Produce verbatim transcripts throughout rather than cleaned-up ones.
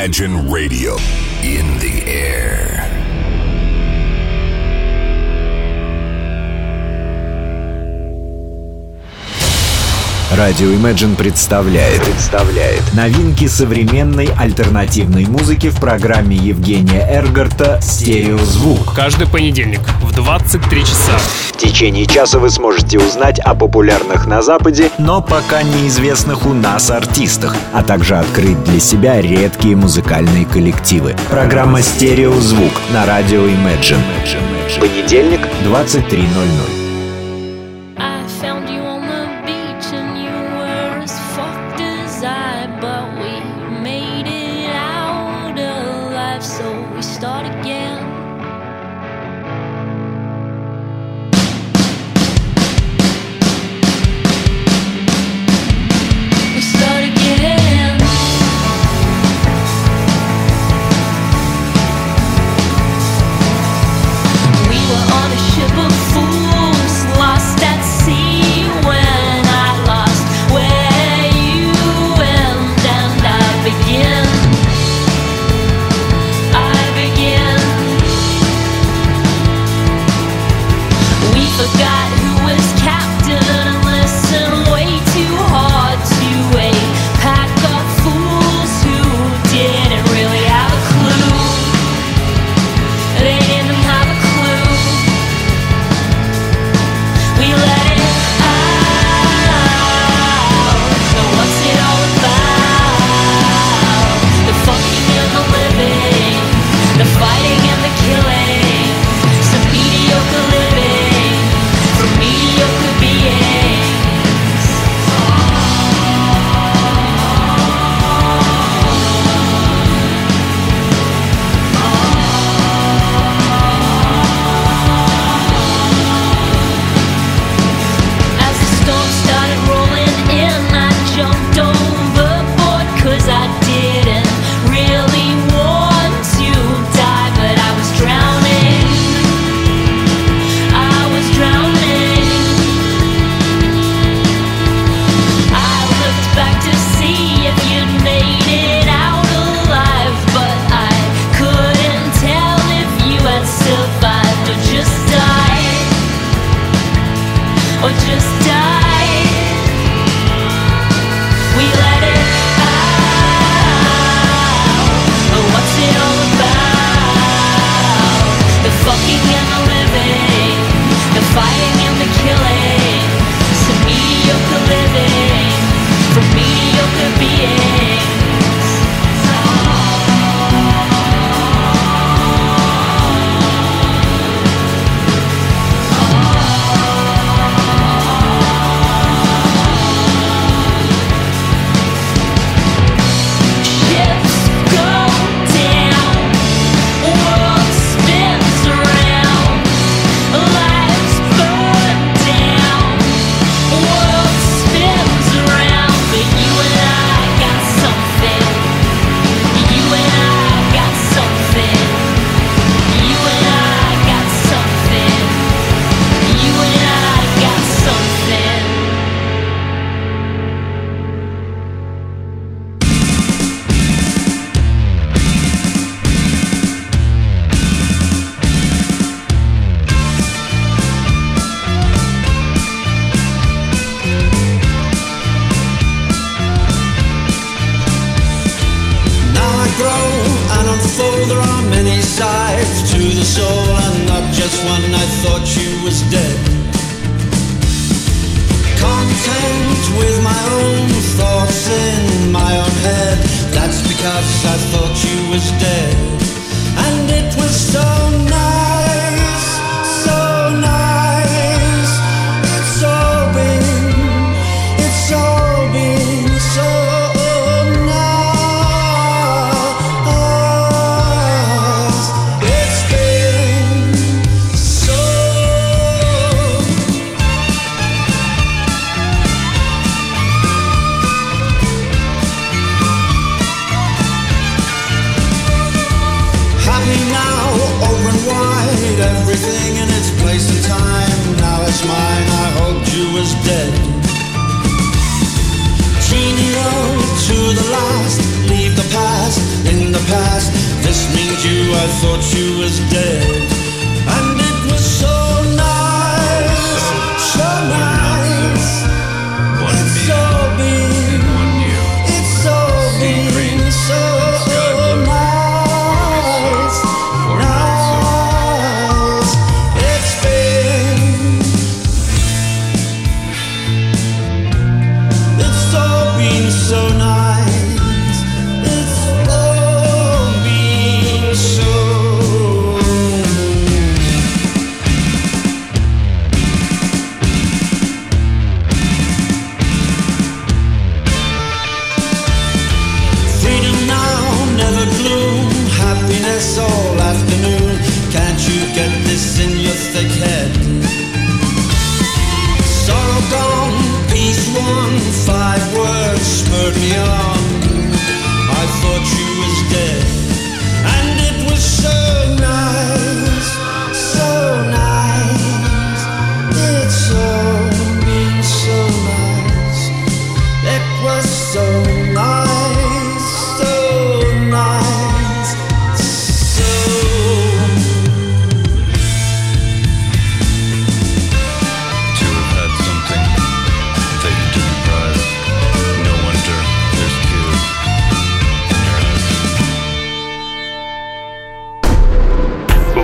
Imagine Radio in the air. Радио Imagine представляет, представляет новинки современной альтернативной музыки в программе Евгения Эргарта «Стереозвук». Каждый понедельник в двадцать три часа. В течение часа вы сможете узнать о популярных на Западе, но пока неизвестных у нас артистах, а также открыть для себя редкие музыкальные коллективы. Программа «Стереозвук» на радио Imagine. Понедельник, двадцать три ноль ноль. Now over and wide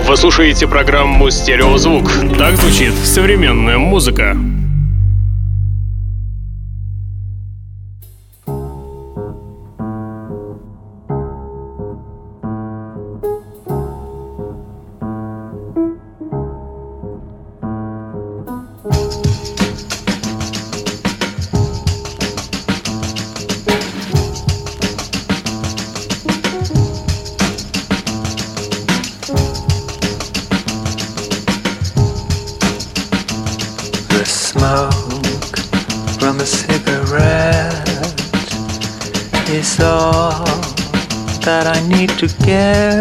Вы слушаете программу «Стереозвук». Так звучит современная музыка. To get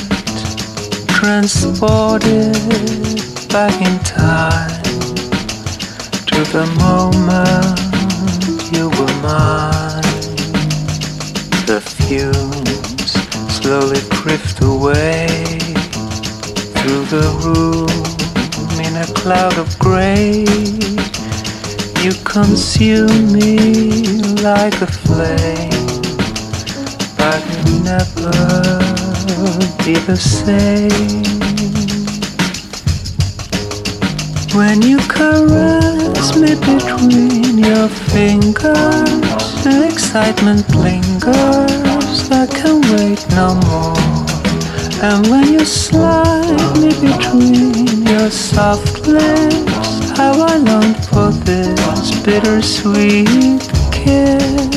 transported back in time to the moment you were mine. The fumes slowly drift away through the room in a cloud of gray. You consume me like a flame, but you'll never be the same. When you caress me between your fingers, the excitement lingers, I can't wait no more. And when you slide me between your soft lips, how I long for this bittersweet kiss.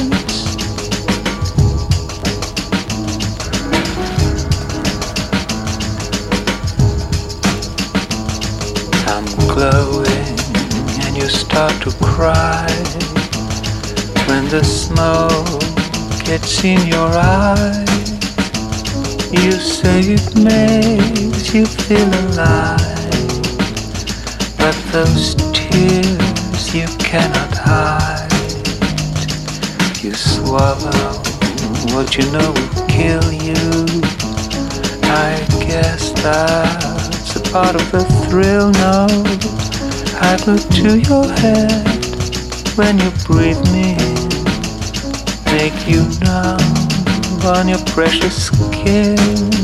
Glowing and you start to cry when the smoke gets in your eyes. You say it makes you feel alive, but those tears you cannot hide. You swallow what you know will kill you. I guess that's a part of the thrill, no. I look to your head when you breathe me in, make you numb on your precious skin.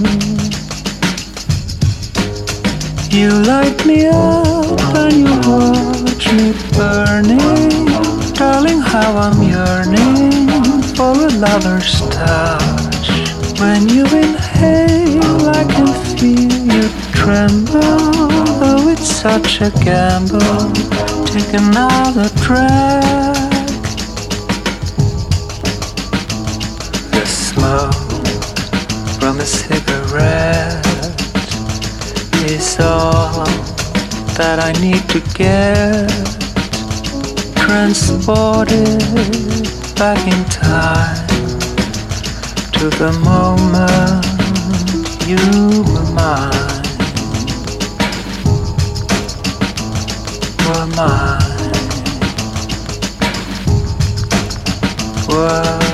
You light me up and you watch me burning. Darling, how I'm yearning for a lover's touch. When you inhale, I can feel you tremble. Though it's such a gamble, take another drag. The smoke from a cigarette is all that I need to get transported back in time to the moment you were mine, were mine, were mine.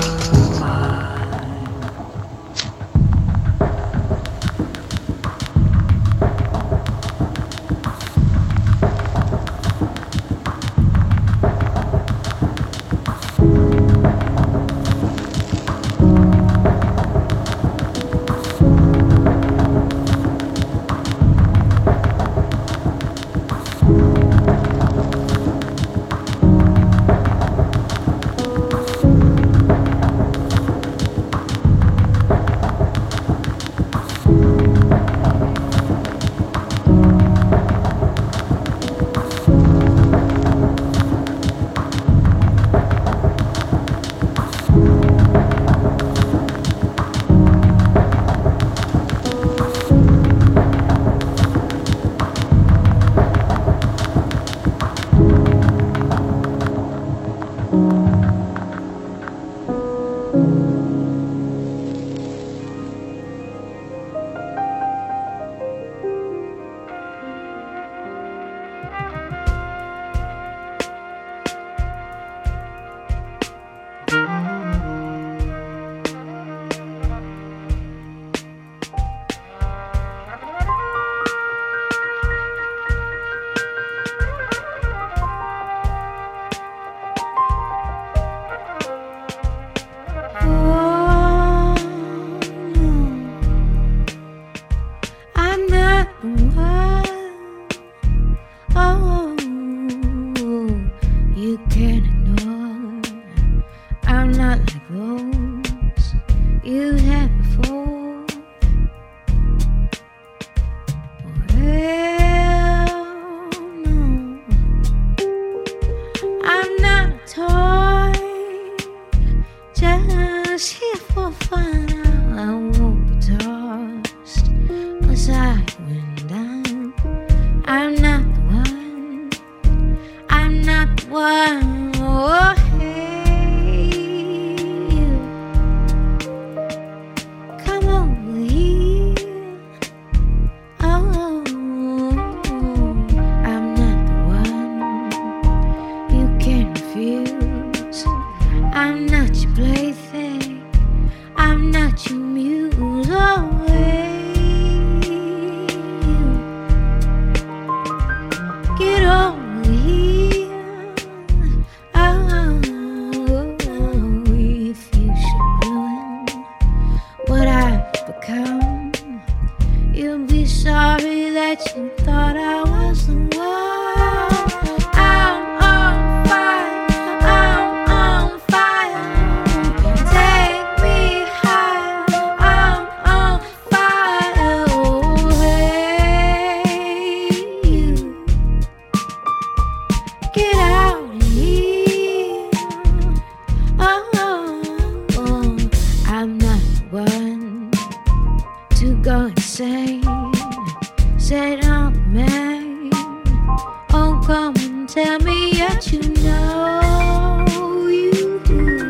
tell me yet you know you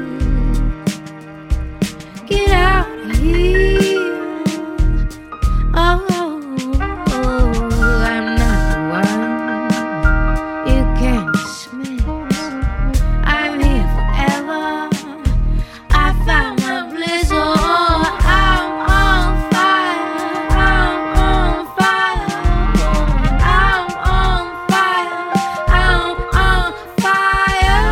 get out of here. Oh, oh, I'm not the one you can dismiss. I'm here forever. I found my bliss. Oh, I'm on fire. I'm on fire. I'm on fire. I'm on fire.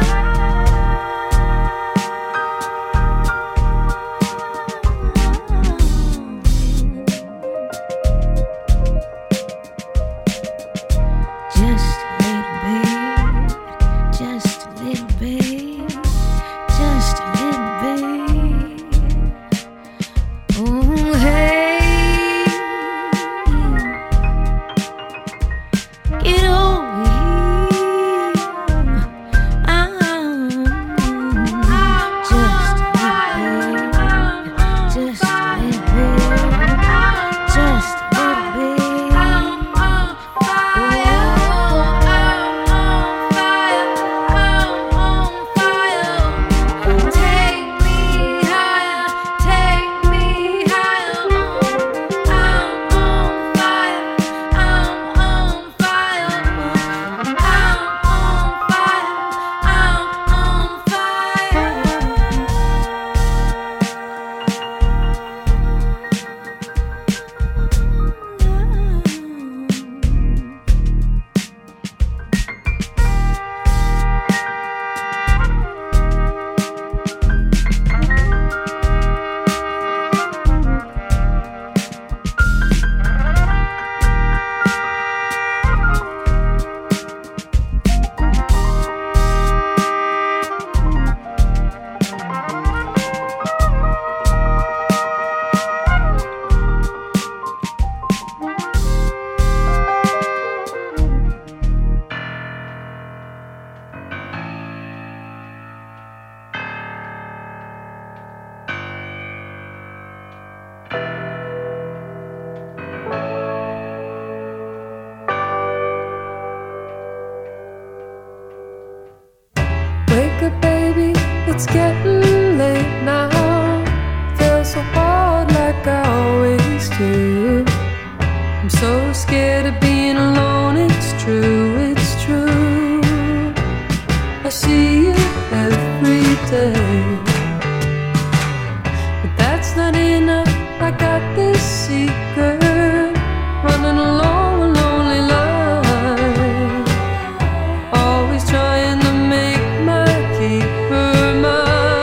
Just a little bit, just a little bit, just a little bit. Oh, hey, get over here. I'm just a little bit, just a little bit, just a little bit. I'm on fire. I'm on fire. I'm on fire. Take me higher. Take me higher. I'm on fire. I'm on fire. I'm on fire. I'm on Wake up, baby, it's getting late now. Feels so hard like I always do. I'm so scared of being alone, it's true, it's true. I see you every day, but that's not enough. I got this secret, running along a lonely line, always trying to make my keeper mine.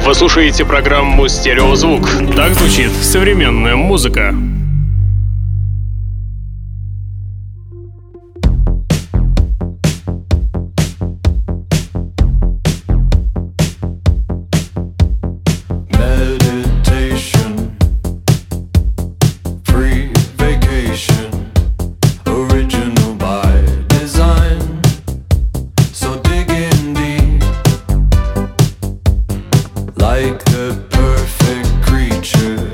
Вы слушаете программу «Стереозвук». Так звучит современная музыка. Like the perfect creature,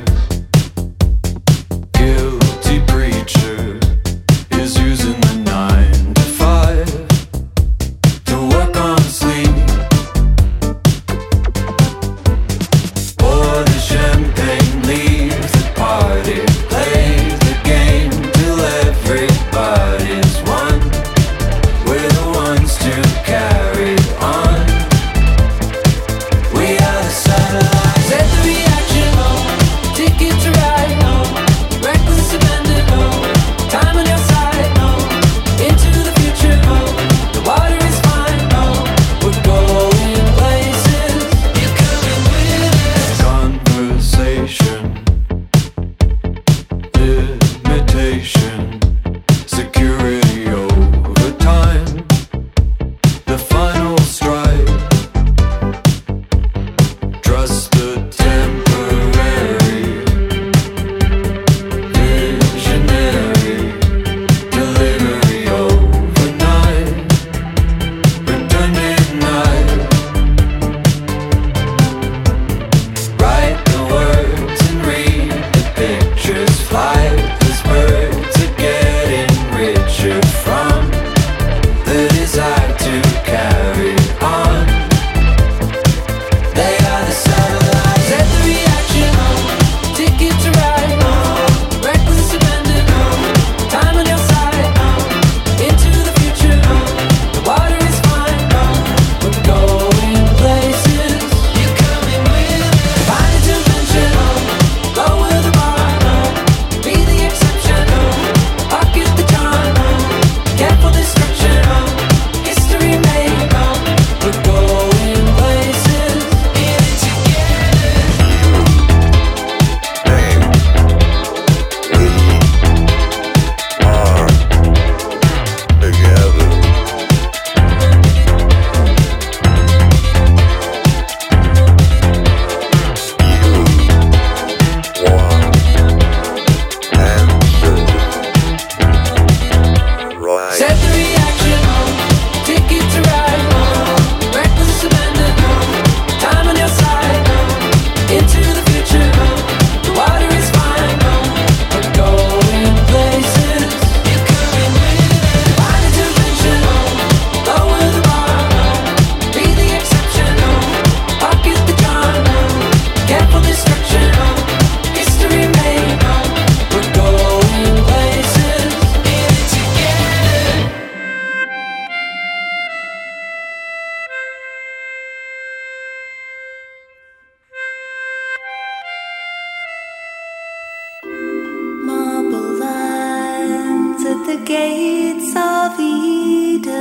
gates of Eden,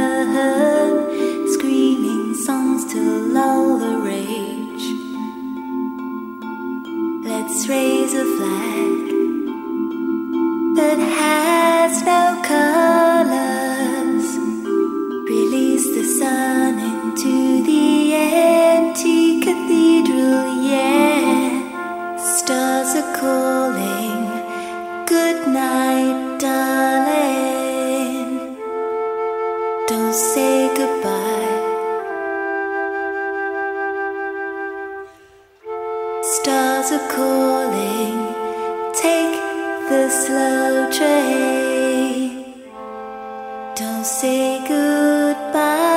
screaming songs to lull the rage. Let's raise a flag that has no colors. Release the sun into the empty cathedral, yeah. Stars are calling, good night, darling. Don't say goodbye. Stars are calling, take the slow train. Don't say goodbye.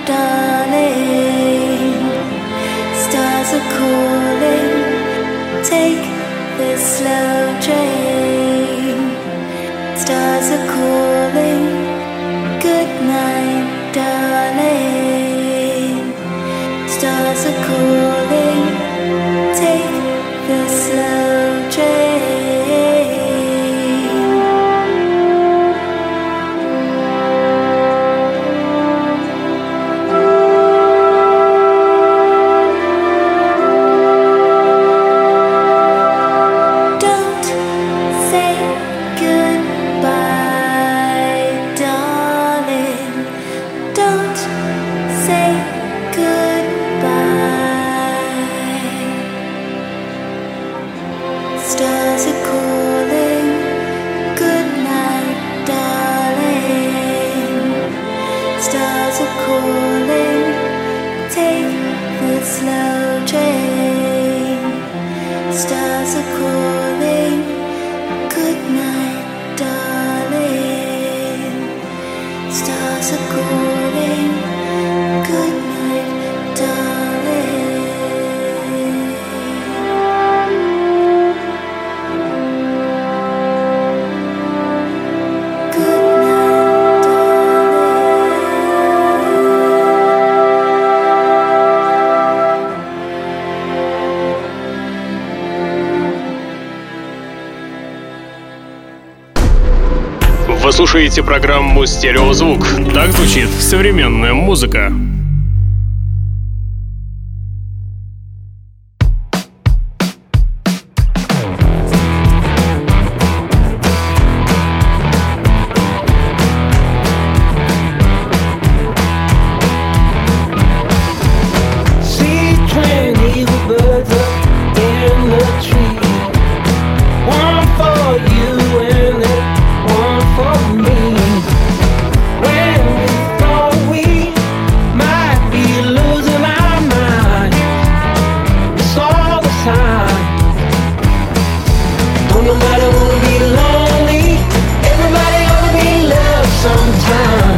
darling. Stars are calling, take this slow train. Stars are calling, good night, darling. Stars are calling, take the slow train. Don't say goodbye, darling. Don't say goodbye. Stars are calling, good night, darling. Stars are calling, take the slow train. Stars are calling, good night, darling. Stars are calling, good night, darling. Good night, Вы слушаете программу «Стереозвук». Так звучит современная музыка. See twenty birds up in the tree. One for you and one for me. When we thought we might be losing our minds, we saw the sign. Don't nobody wanna be lonely. Everybody ought to be loved sometime.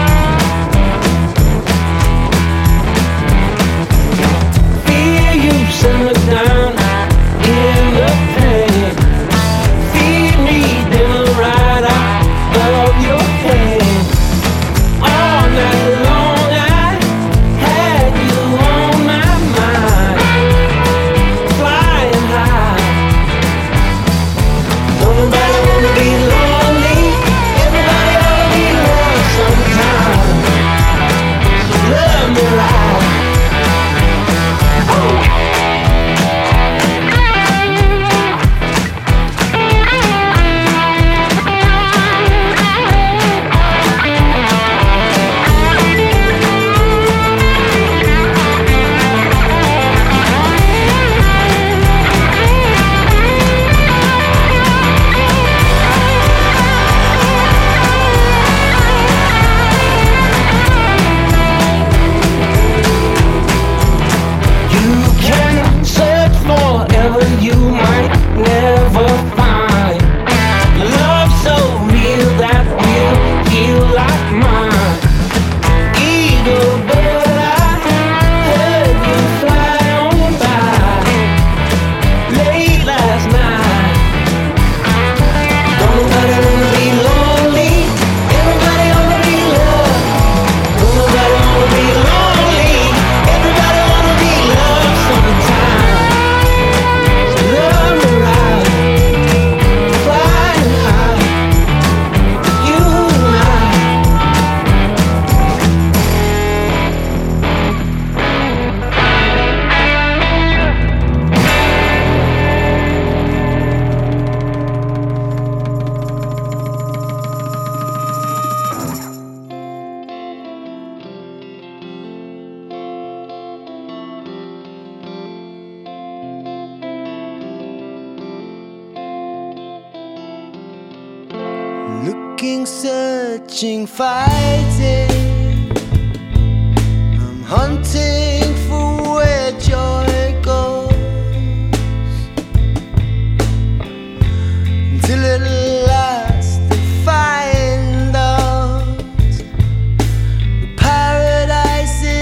Fear you simmer down in the pain. Feed me dinner right out of your hand. All night long I had you on my mind, flying high. Don't nobody wanna be lonely. Everybody ought to be loved sometime. So love me right. You can search forever, you might never find love so real that will heal like mine. Eagle bird, I heard you fly on by late last night. Don't nobody wanna be lonely. Everybody wanna be loved. Don't nobody wanna be lonely. Everybody wanna be loved sometime. So love me right, flying high, you and I. Looking, searching, fighting. I'm hunting for where joy goes, until at last they find us. The paradise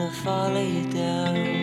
gonna follow you down.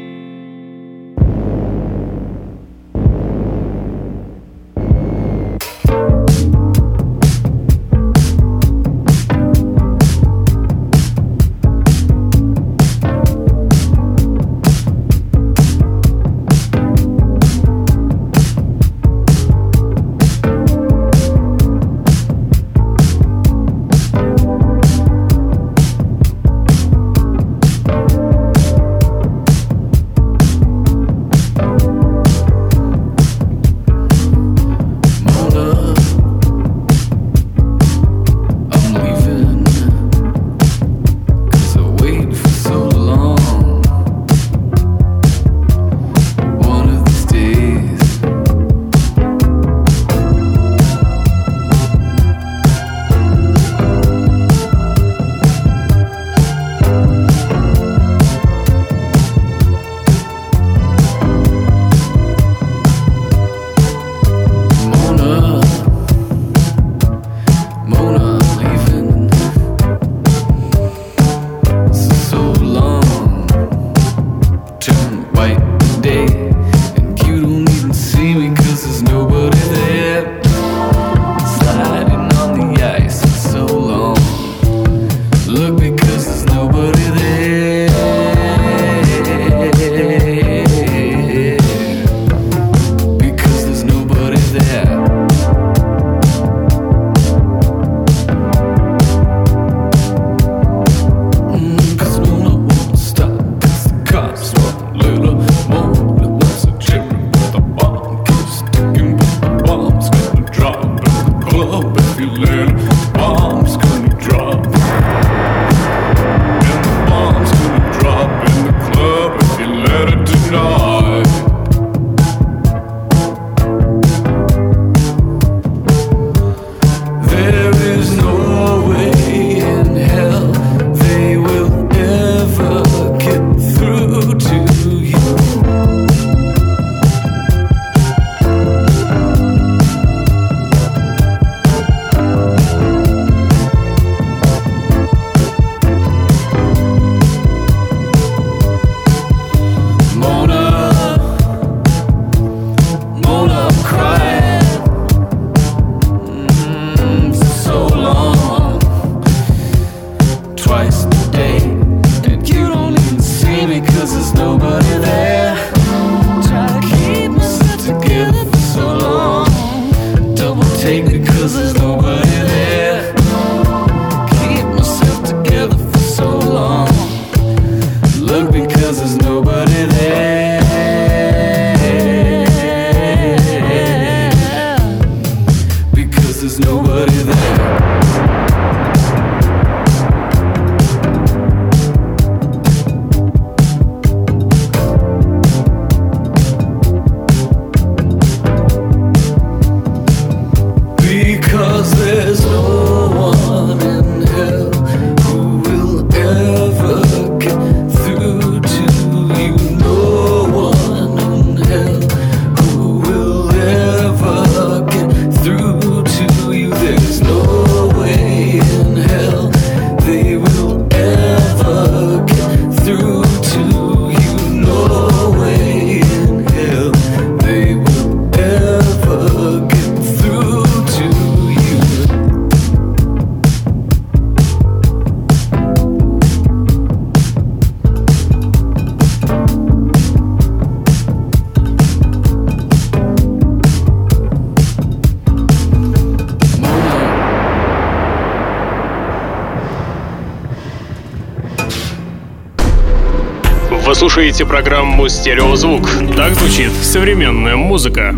Вы слушаете программу «Стереозвук». Так звучит современная музыка.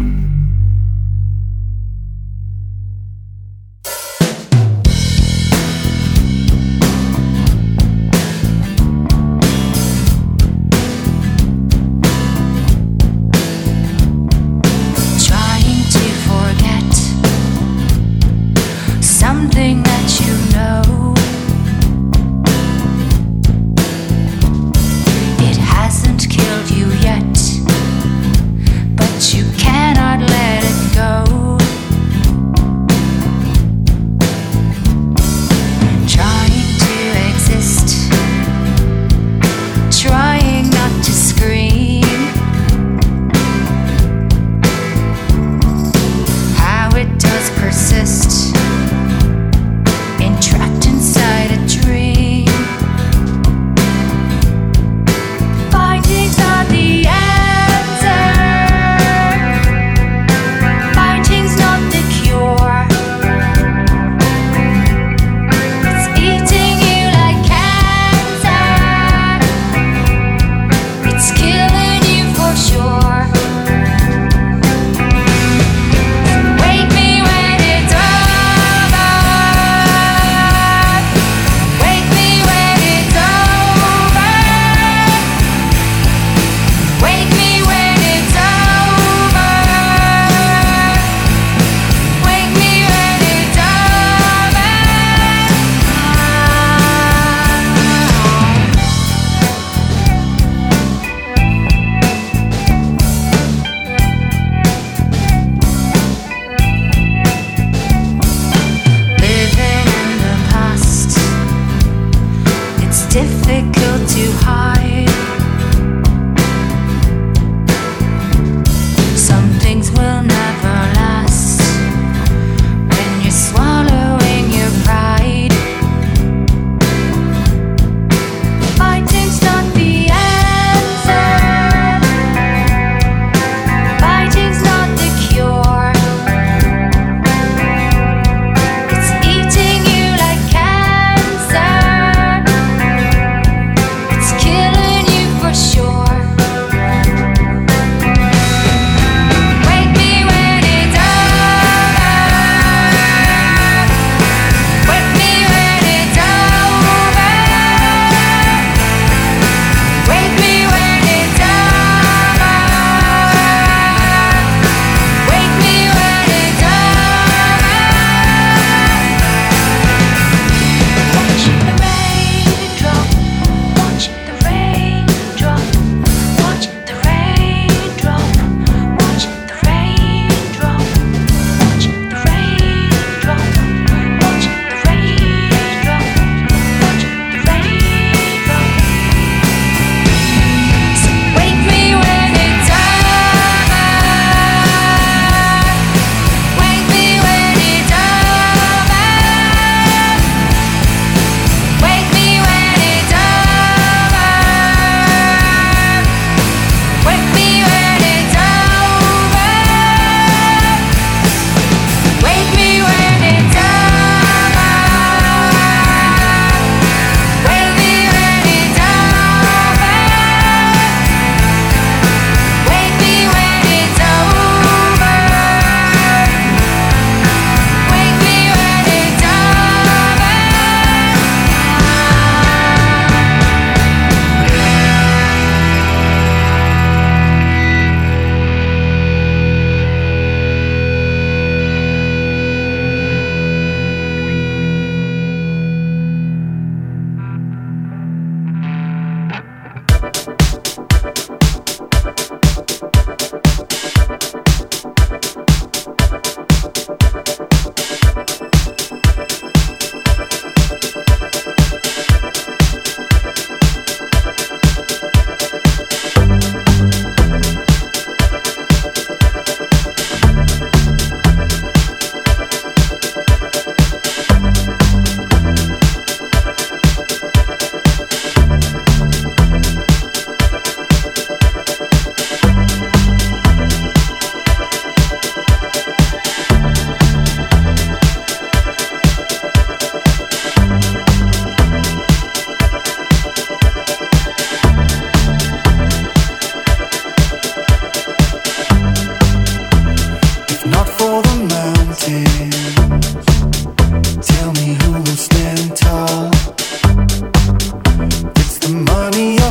Cannot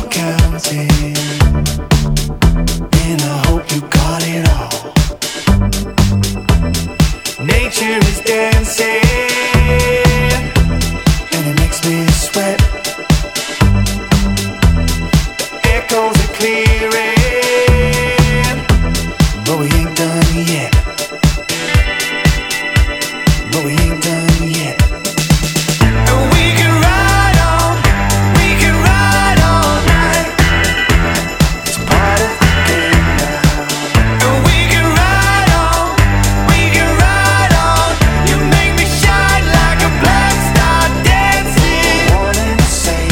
counting, and I hope you got it all. Nature is dancing, and it makes me sweat. The echoes are clearing, but we ain't done yet. But we ain't done yet. And we can ride on, we can ride all night. It's part of the game now. And we can ride on, we can ride on. You make me shine like a black star dancing. Wanting to say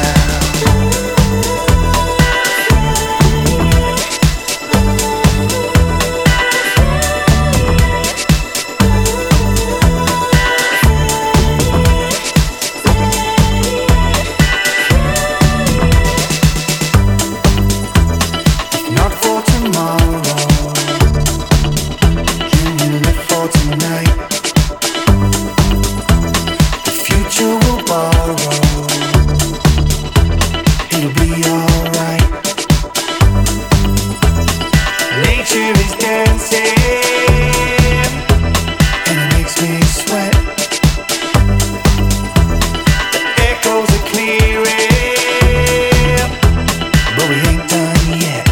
not for tomorrow. Can you live for tonight? The future will borrow. It'll be alright. Nature is dancing, and it makes me sweat. The echoes are clearing, but we ain't done yet.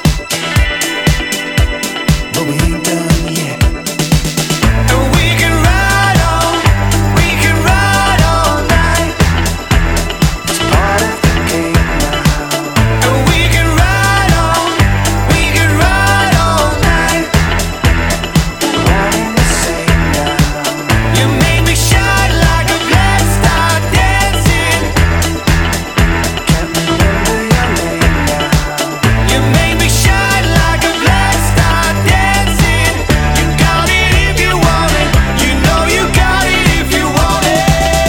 But we ain't done yet. And we can ride on, we can ride all night. It's part of the game now. And we can ride on, we can ride all night. Wanting to say now, you make me shine like a black star dancing. Can't remember your name now. You make me shine like a black star dancing. You got it if you want it. You know you got it if you want it.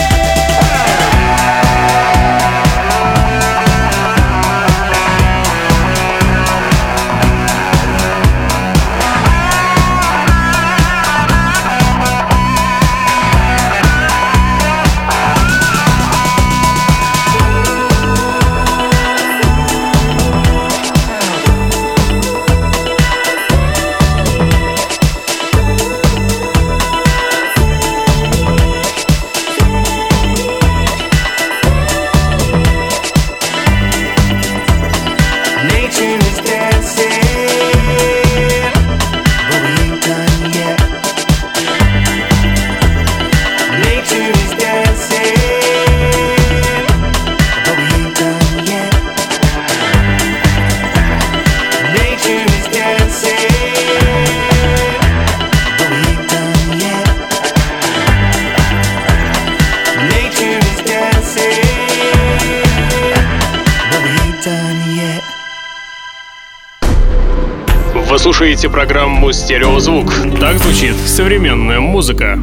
Nature is dancing, but we ain't done yet. Nature is dancing, but we ain't done yet. Nature is dancing, but we ain't done yet. Nature is dancing, but we ain't done yet. Вы слушаете программу «Стереозвук». Так звучит современная музыка.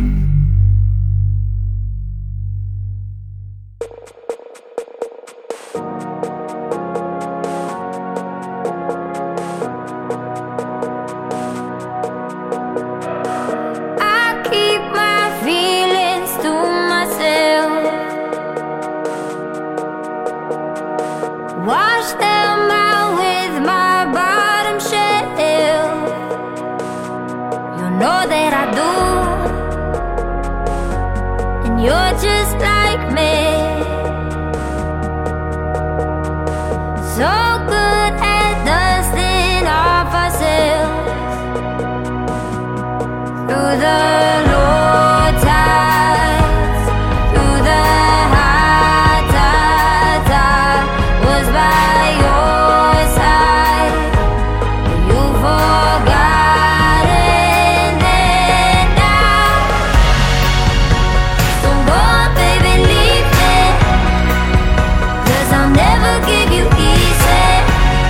I keep my feelings to myself. Wash them out with my bottom shelf. You know that I do, and you're just like me. So good at dusting off ourselves through the low tides, through the high tides. I was by your side, but you forgot it now. So go on, baby, leave me, 'cause I'll never give you easy.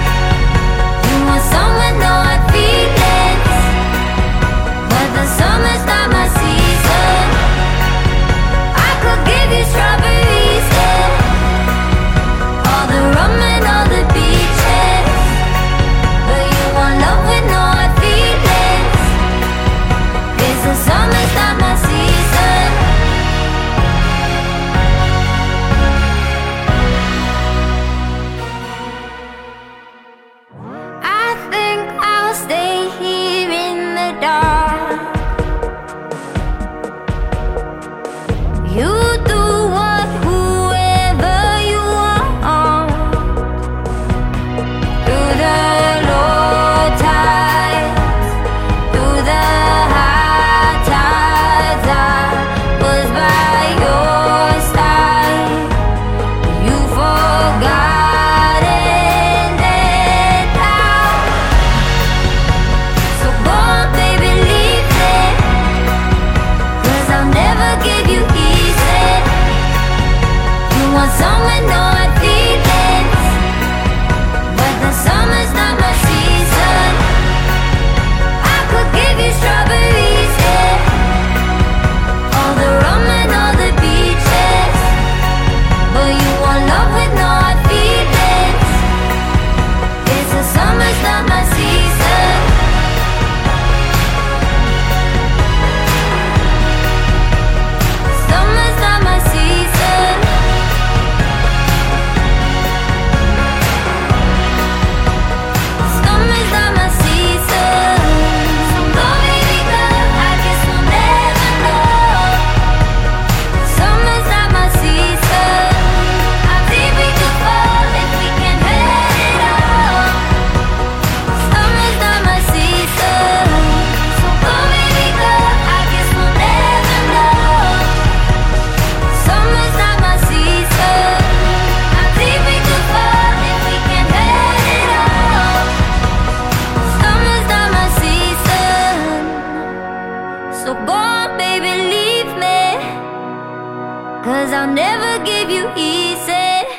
never give you easy.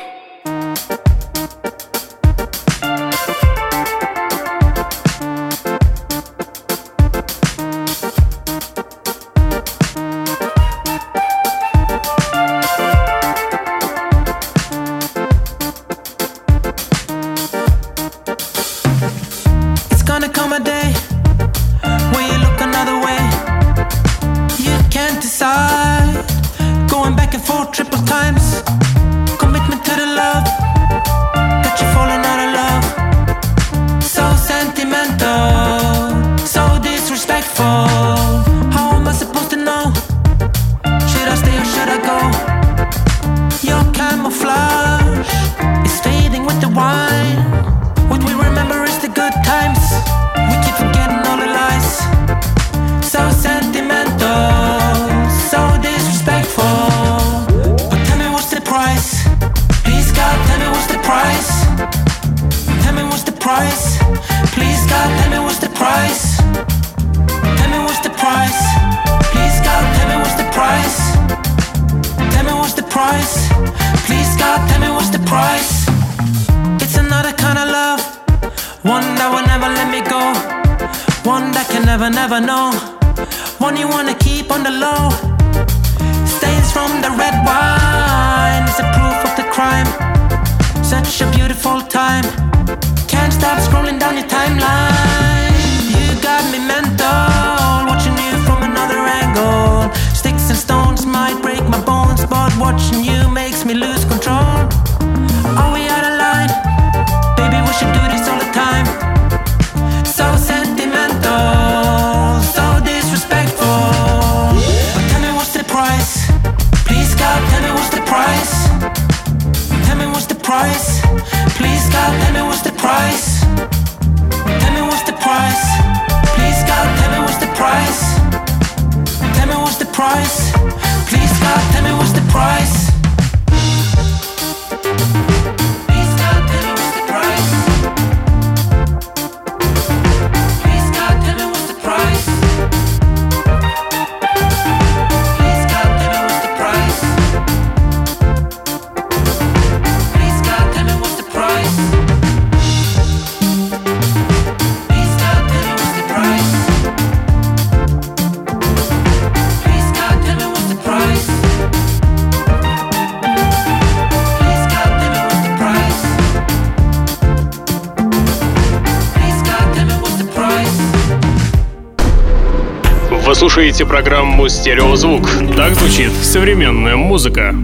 Вы слушаете программу «Стереозвук». Так звучит современная музыка.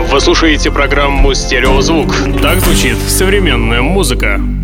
Вы слушаете программу «Стереозвук». Так звучит современная музыка.